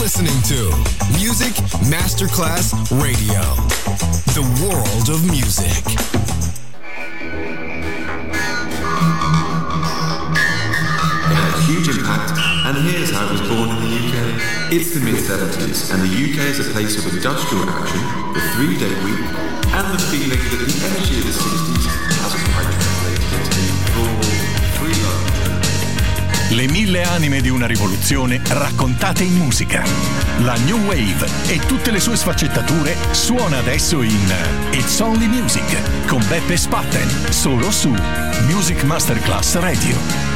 listening to Music Masterclass Radio, the world of music. It had a huge impact, and here's how it was born in the UK. It's the mid-70s, and the UK is a place of industrial action, the 3-day week, and the feeling that the energy of the 60s hasn't quite translated into raw, free love. Le 1000 anime di una rivoluzione raccontate in musica. La New Wave e tutte le sue sfaccettature suona adesso in It's Only Music con Beppe Spatten, solo su Music Masterclass Radio.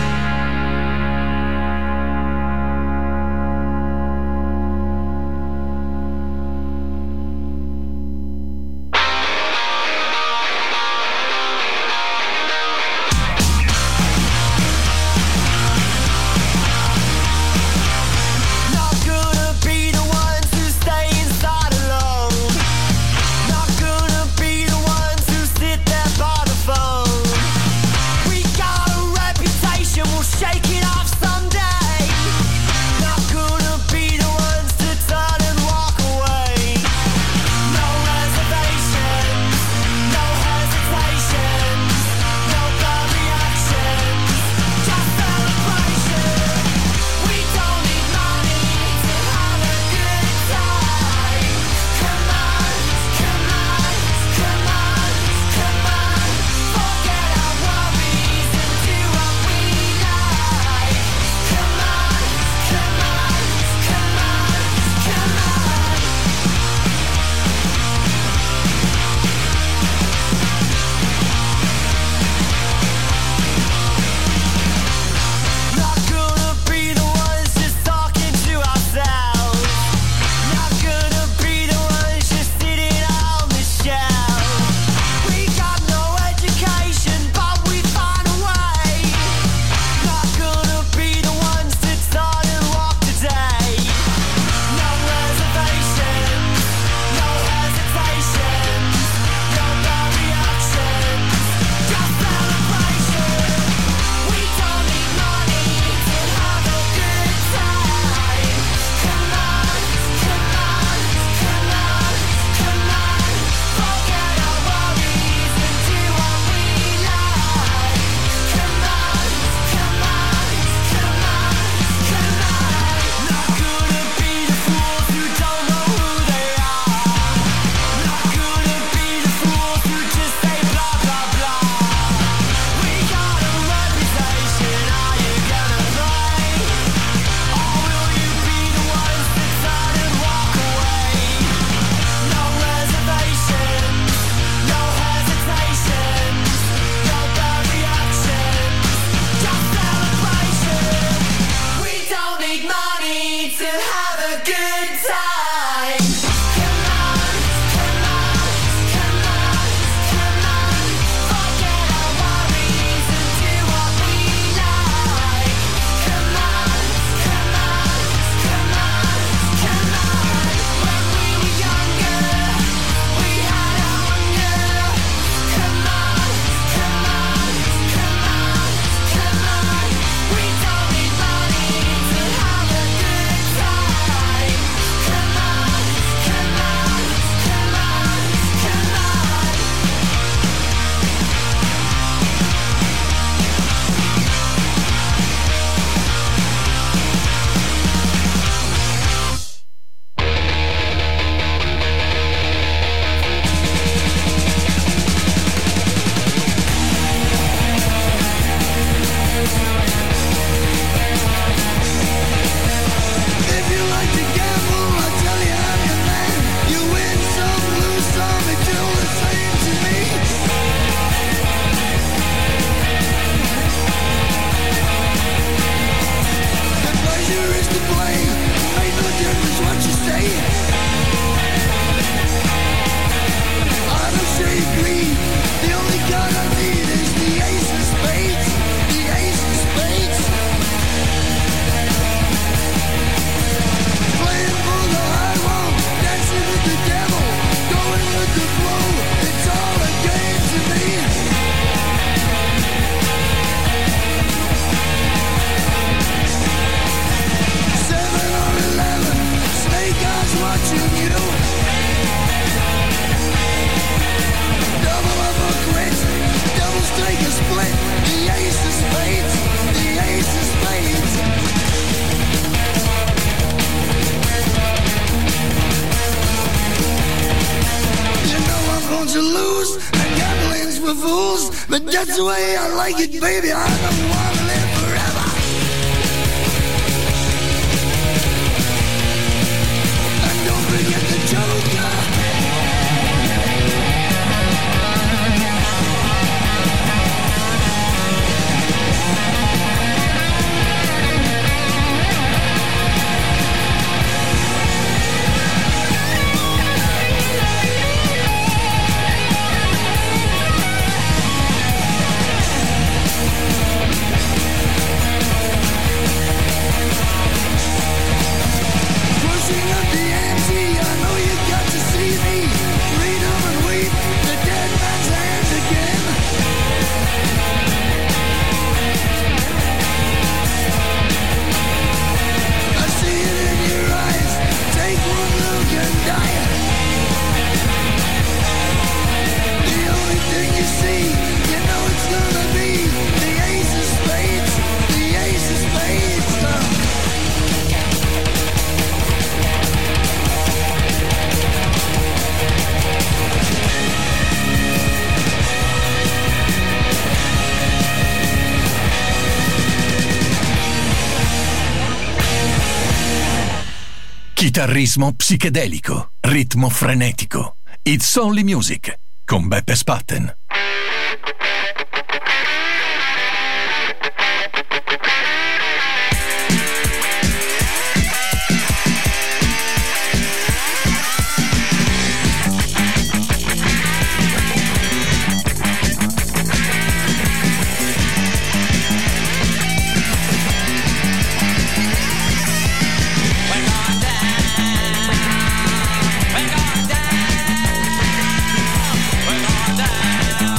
Reputation but that's the way I like it, baby. I don't wanna live forever. And don't forget the Joker. Chitarrismo psichedelico, ritmo frenetico. It's Only Music con Beppe Spatten. We're gonna die.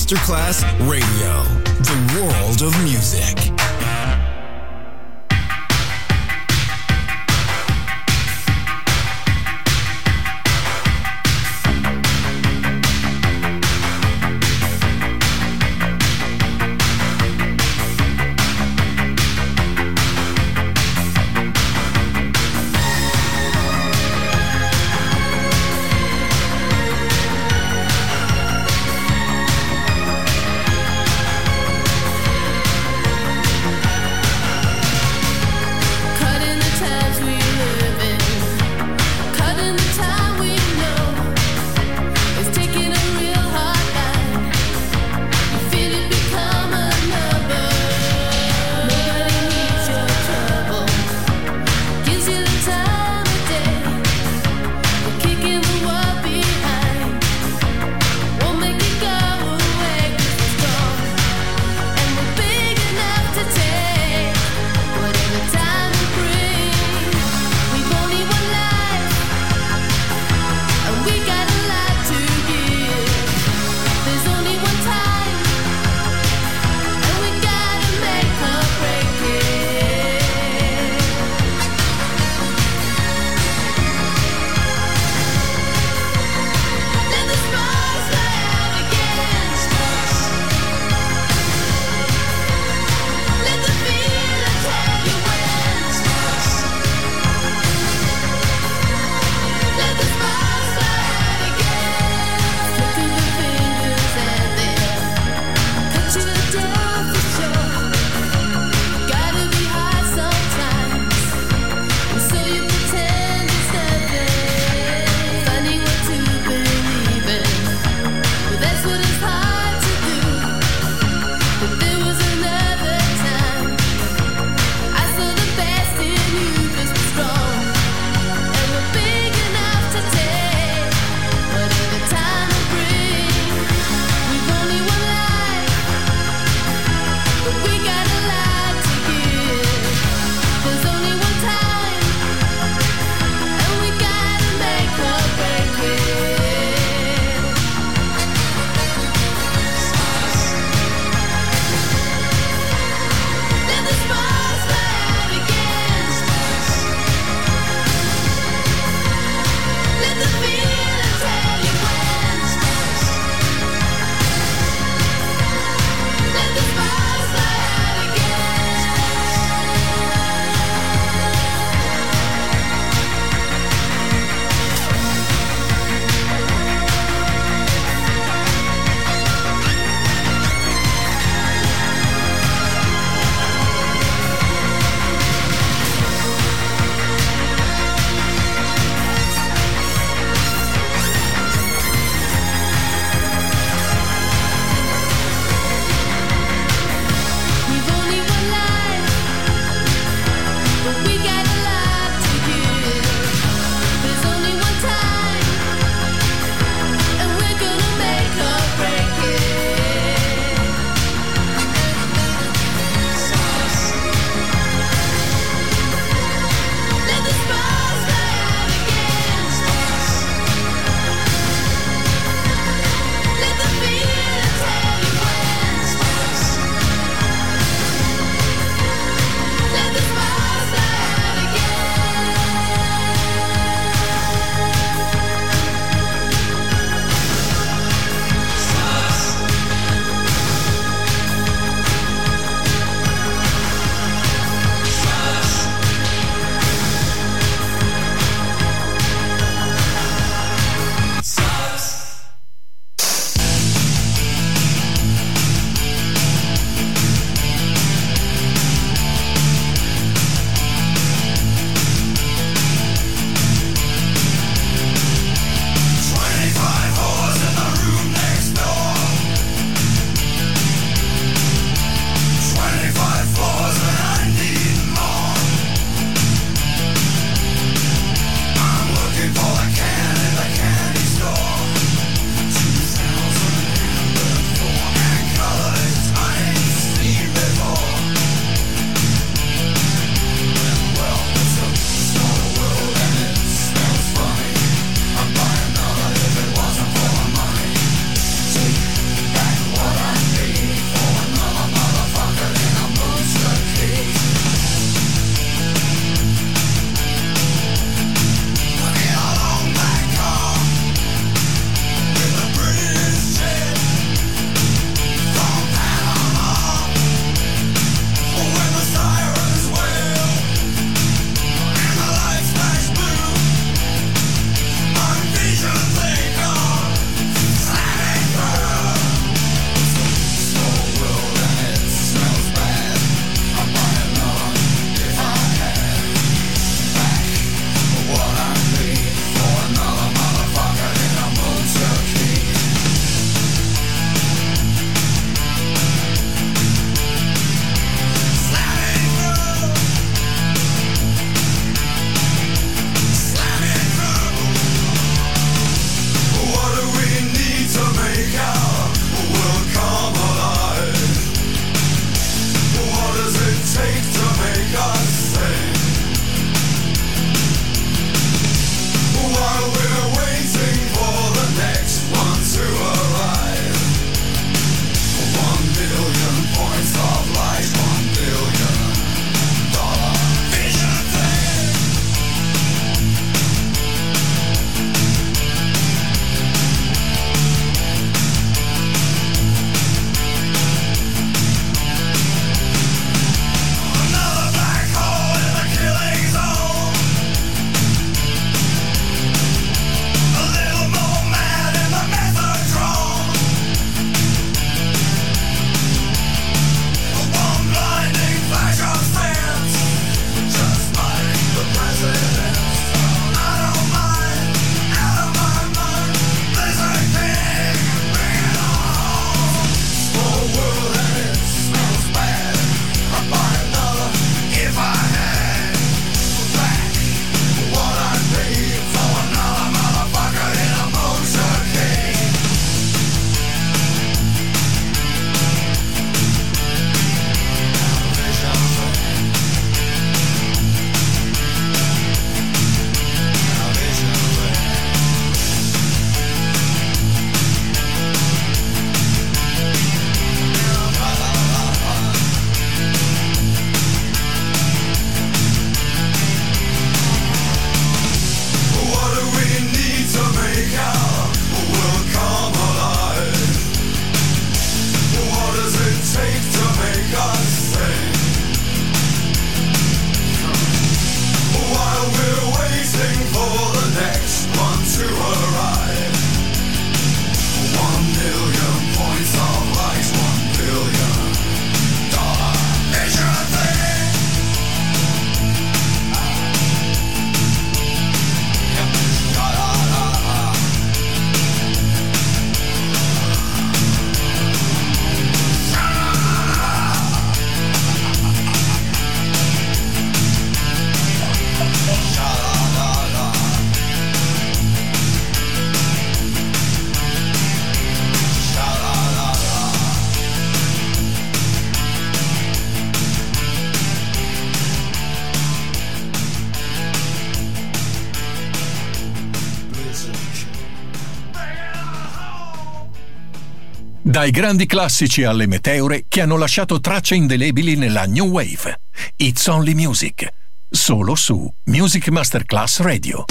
Masterclass Radio, the world of music. Dai grandi classici alle meteore che hanno lasciato tracce indelebili nella New Wave. It's Only Music. Solo su Music Masterclass Radio.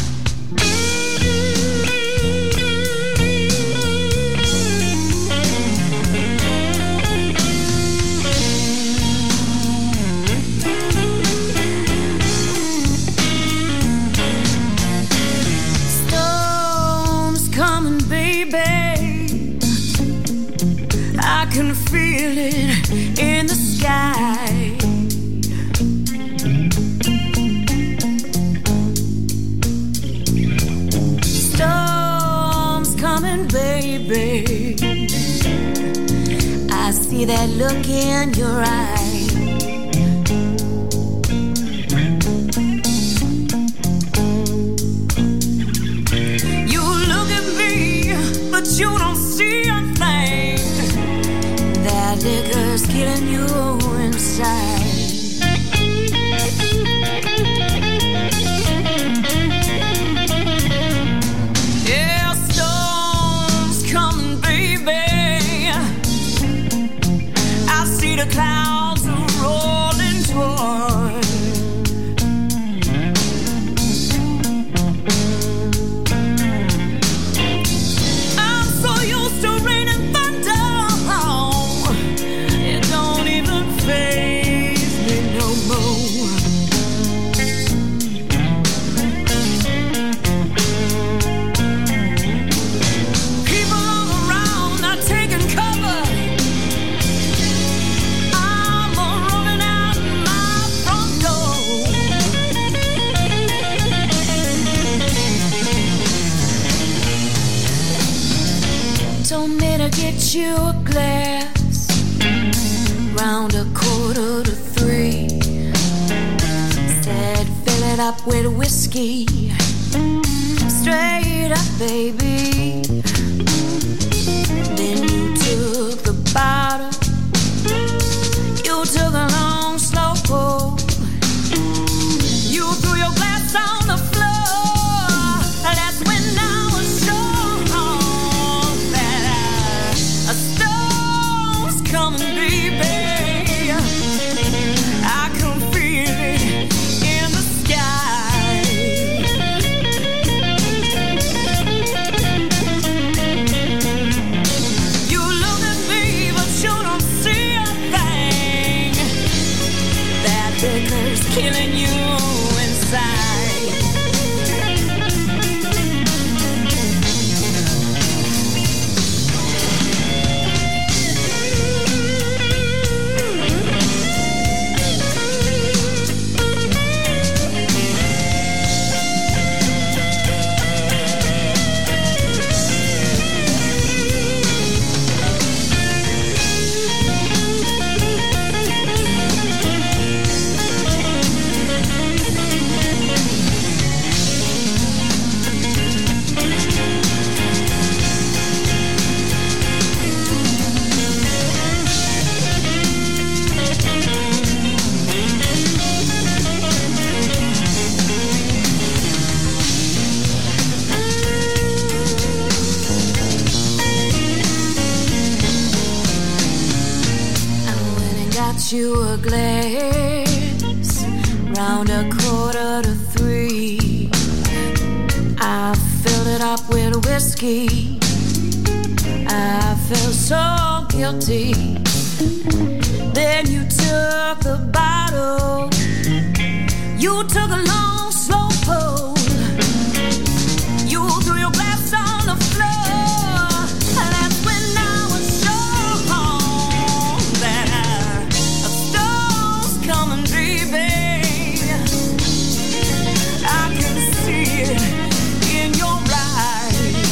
I can feel it in the sky. Storms coming, baby. I see that look in your eye. You look at me, but you don't see a thing. That liquor's killing you inside. Yeah, storms coming, baby. I see the clouds are rolling toward. I'm so used to rain and thunder. Faze me no more. People all around are taking cover. I'm running out my front door. Told me to get you a glass round 2:45. Said fill it up with whiskey. Straight up, baby. Then you took the bottle. You took a long, slow pull. You threw your glass on the floor. That's when I was sure that a storm's coming, baby. Killing you inside. You a glass round 2:45. I filled it up with whiskey. I felt so guilty. Then you took the bottle. You took a long, slow pull. You threw your glass on the floor. And that's when I was sure that coming, baby. I can see it in your eyes.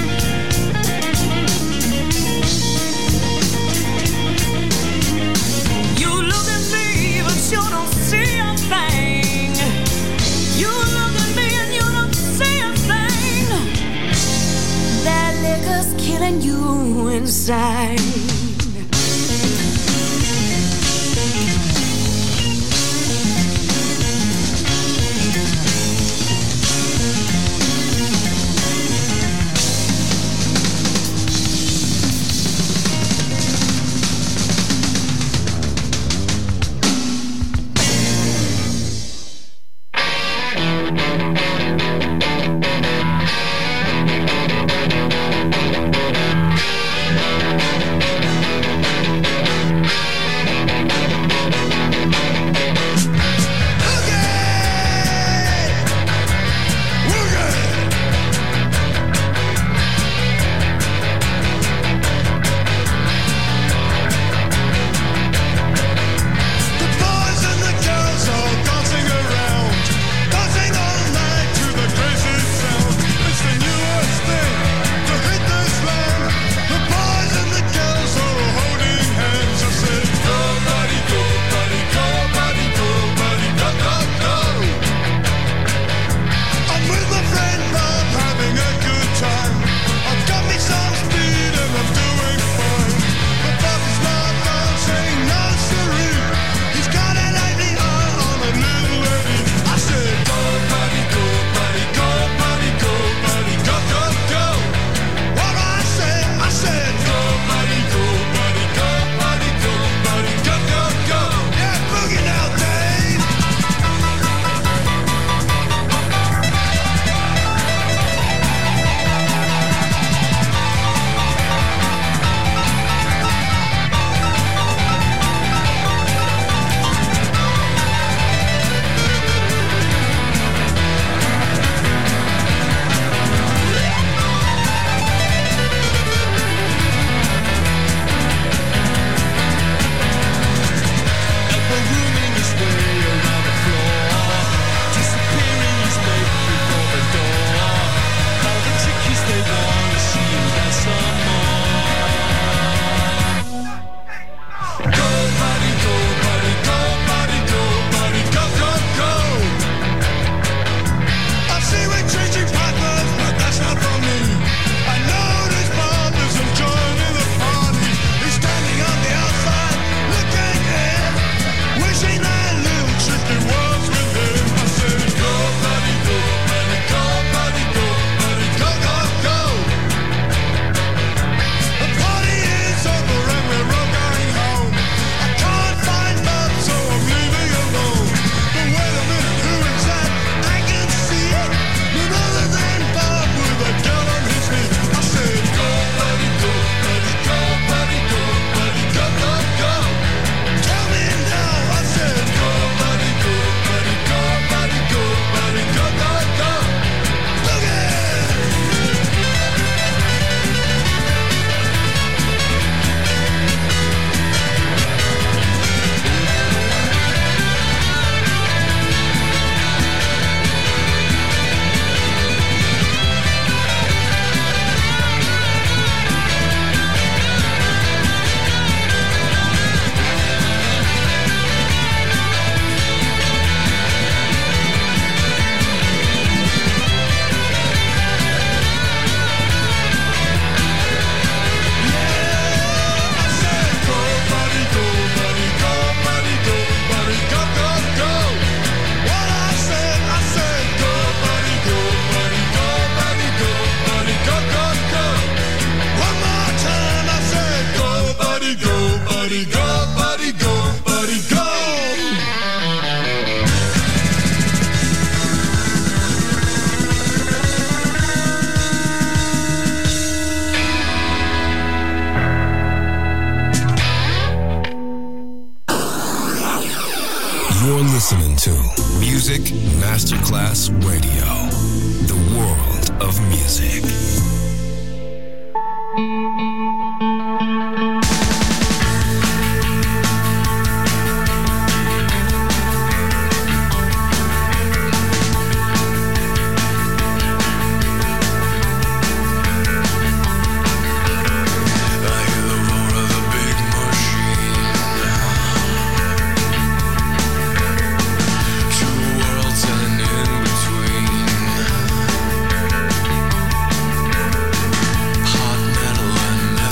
You look at me, but you don't see a thing. You look at me and you don't see a thing. That liquor's killing you inside. You're listening to Music Masterclass Radio, the world of music. Hot metal and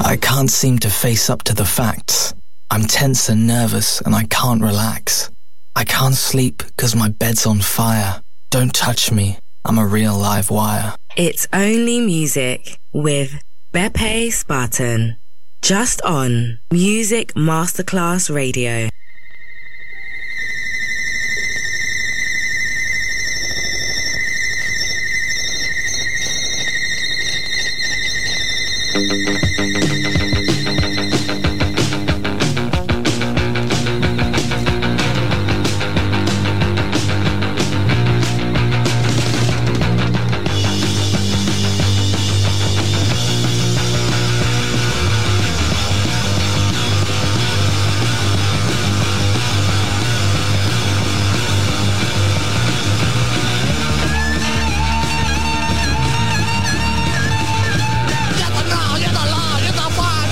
I can't seem to face up to the facts. I'm tense and nervous and I can't relax. I can't sleep 'cause my bed's on fire. Don't touch me, I'm a real live wire. It's Only Music with Beppe Spartan. Just on Music Masterclass Radio. Get the now, get the law, get the fire.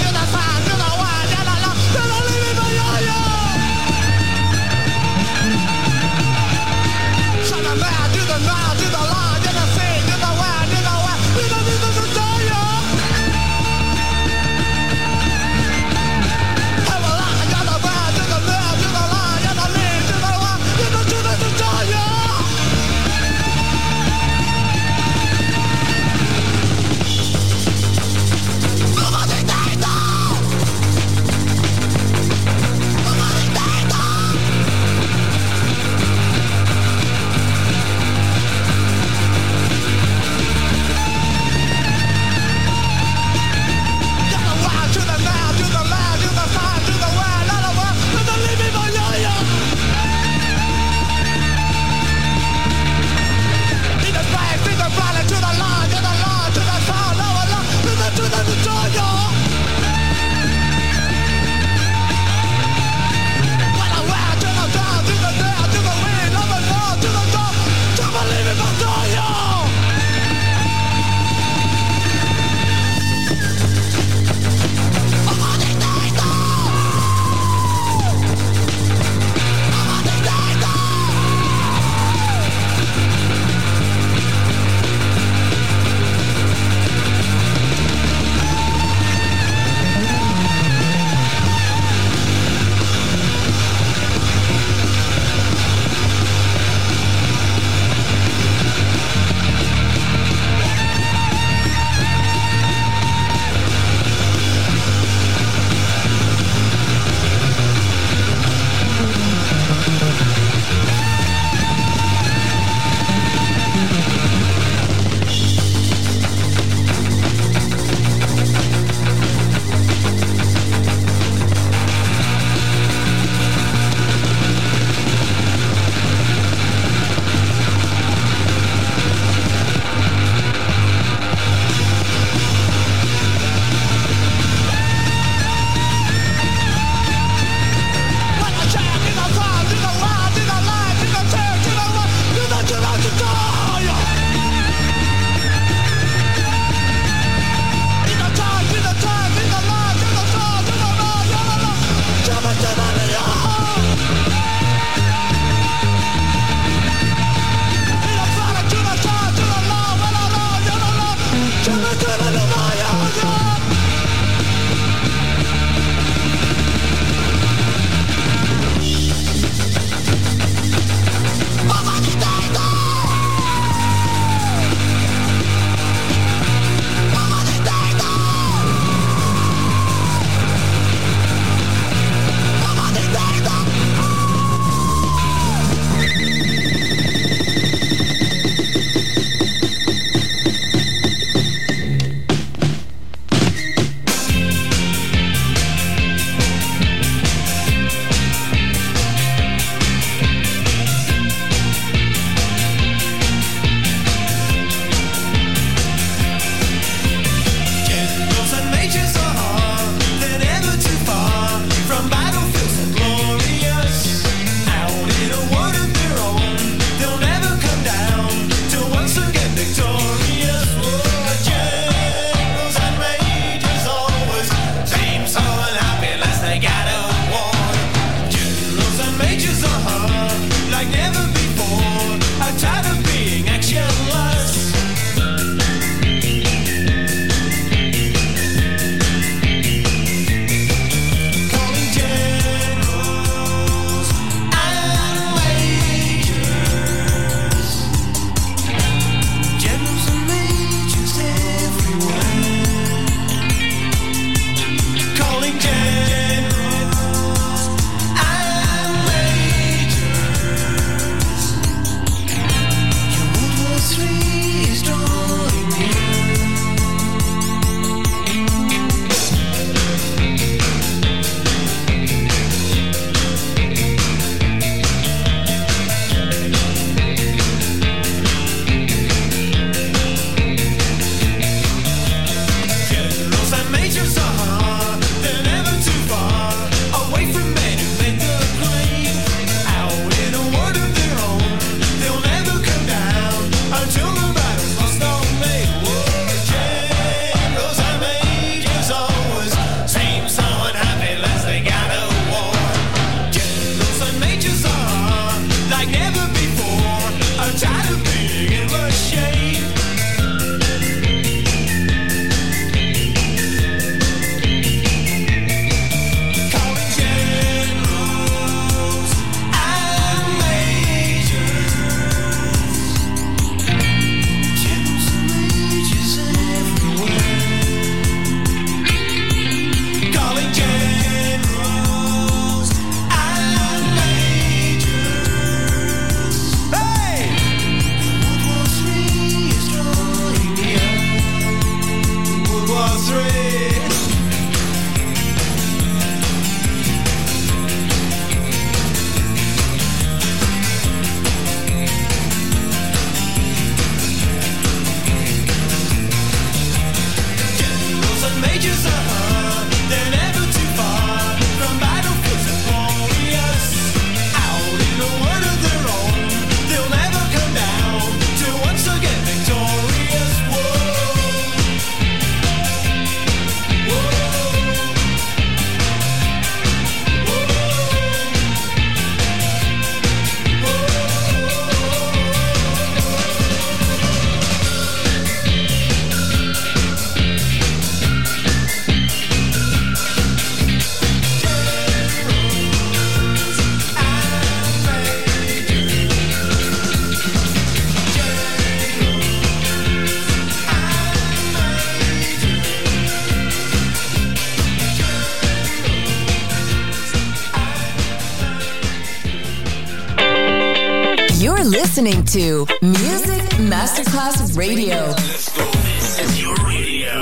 listening to Music Masterclass Radio. Let's go. This is your radio.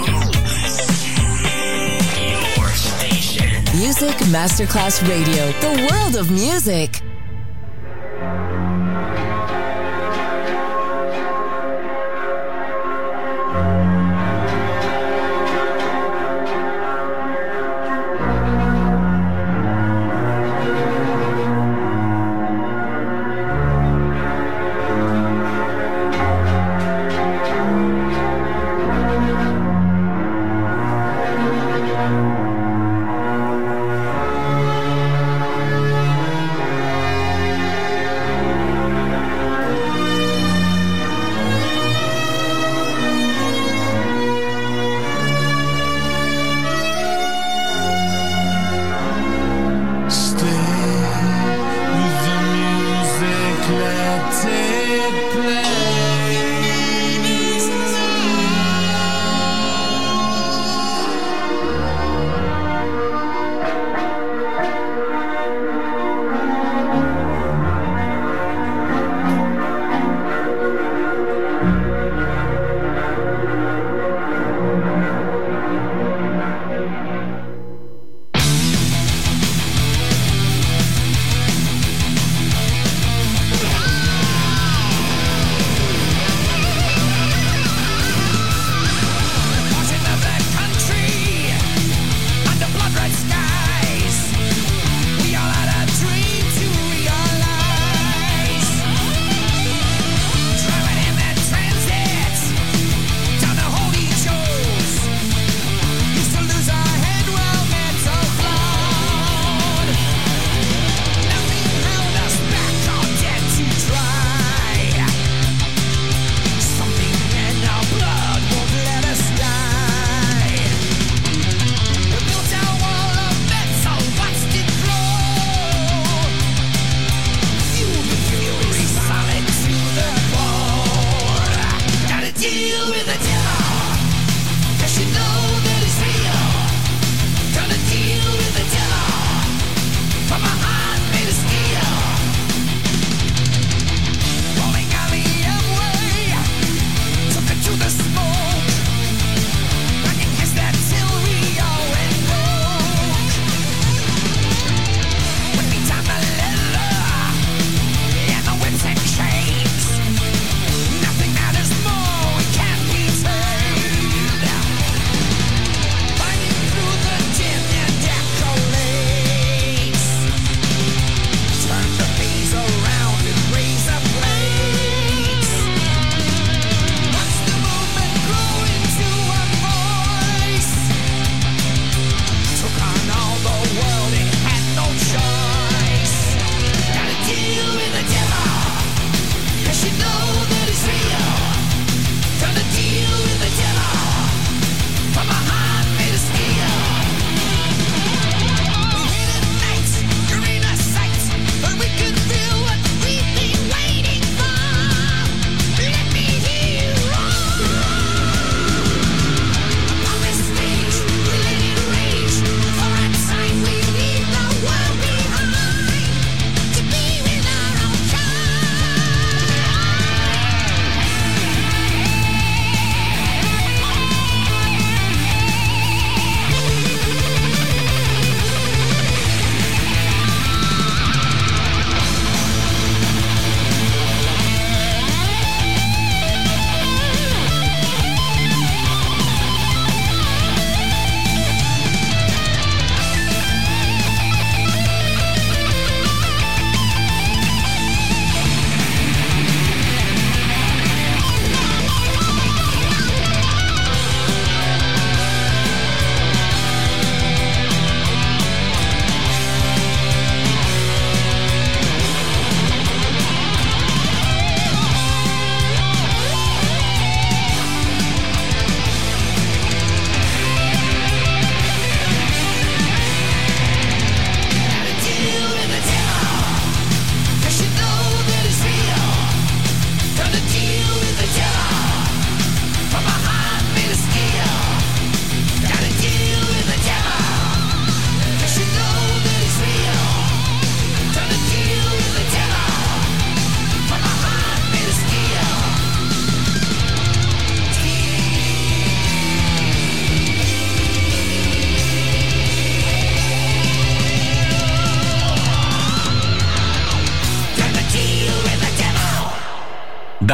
Your station. Music Masterclass Radio. The world of music.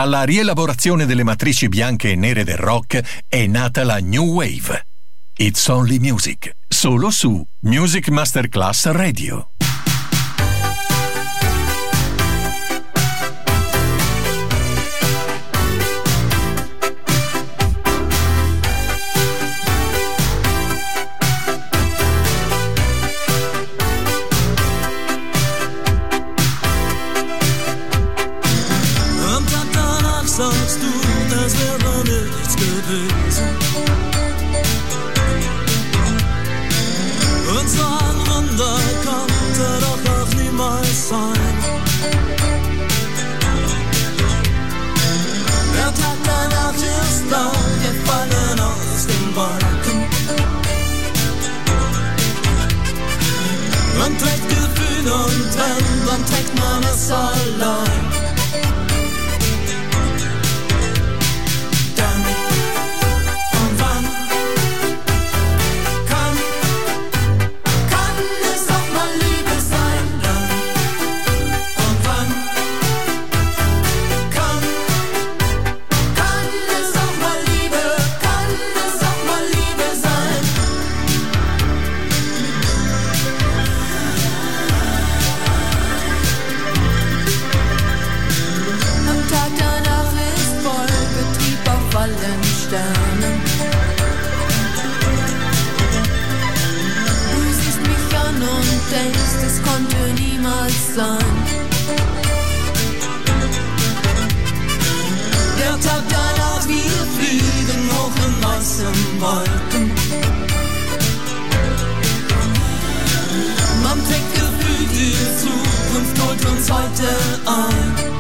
Dalla rielaborazione delle matrici bianche e nere del rock è nata la New Wave. It's Only Music, solo su Music Masterclass Radio. Sagst du, das wäre nichts gewesen. Und so ein Wunder konnte doch auch niemals sein. Der Tag danach ist da, wir fallen aus den Wolken. Man trägt Gefühl und dann trägt man es allein. Sein. Der Tag danach, wir fliegen hoch in weißen Wolken. Man trägt Gefühl, die Zukunft holt uns heute ein.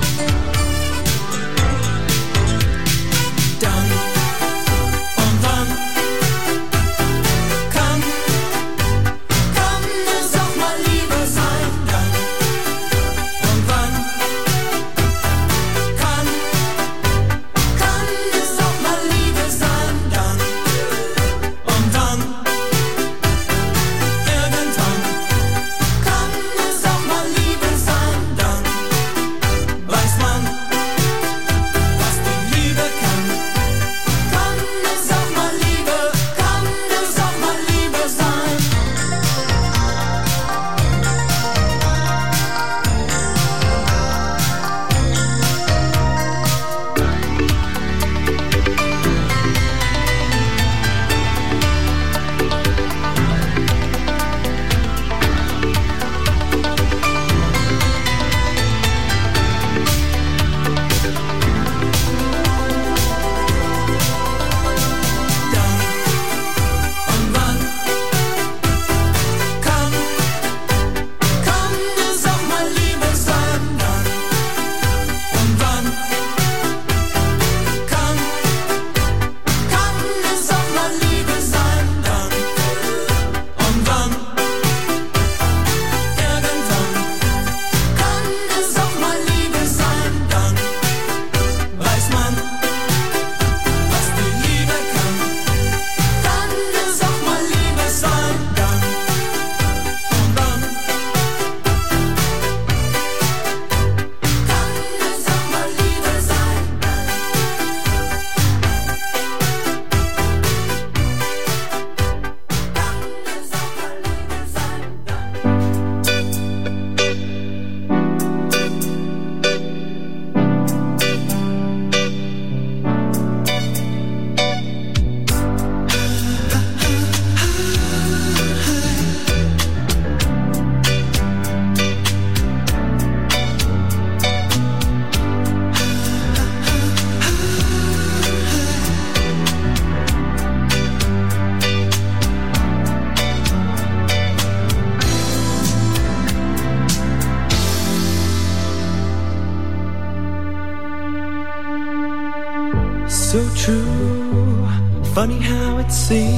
So true, funny how it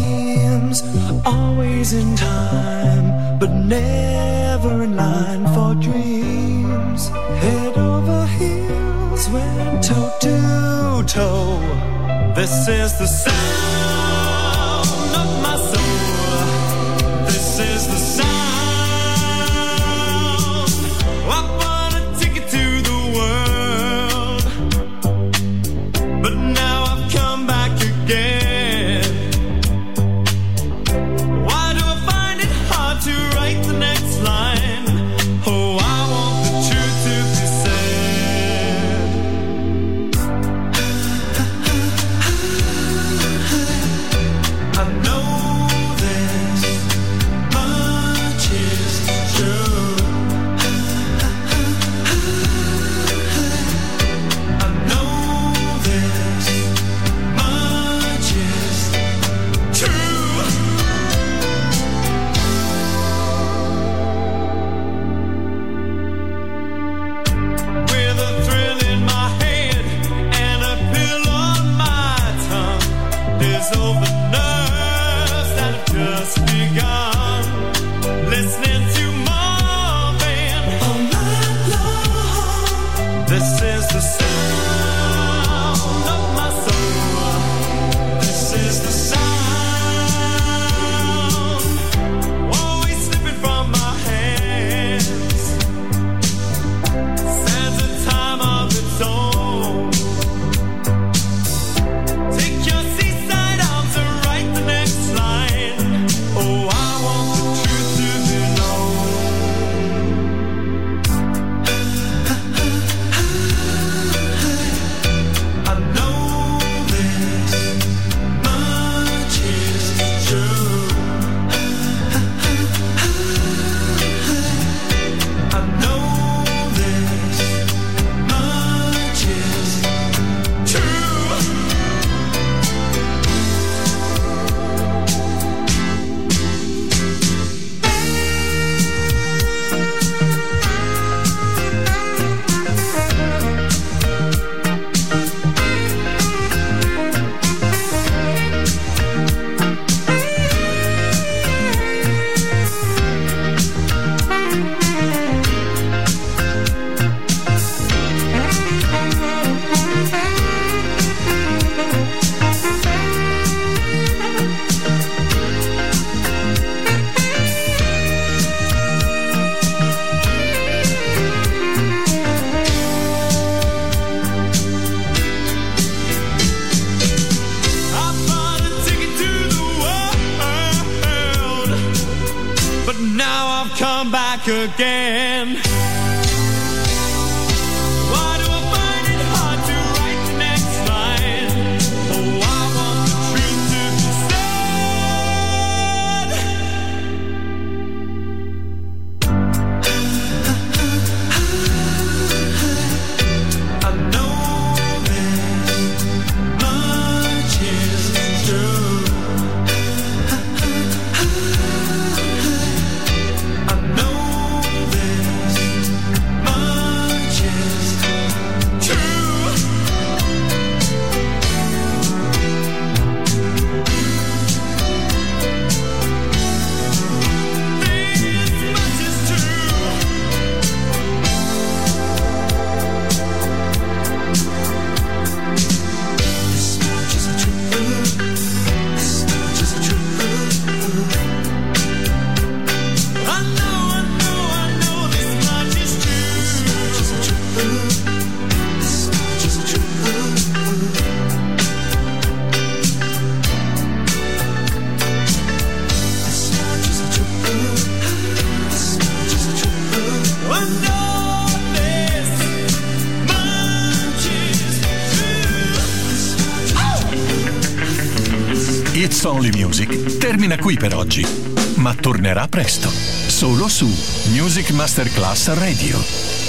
seems, always in time, but never in line for dreams. Head over heels, went toe to toe. This is the sound of my soul. This is the sound. I wanna take it to the world. back again. Why do I find it hard to write the next line? Oh, I want the truth to be said. I know this much is true. I know this much is true. This much is true. This much is true. This much is true. I know this much is true. This much is true. This much is true. This much is true. This much is true. I know this much is true. It's Only Music termina qui per oggi, ma tornerà presto, solo su Music Masterclass Radio.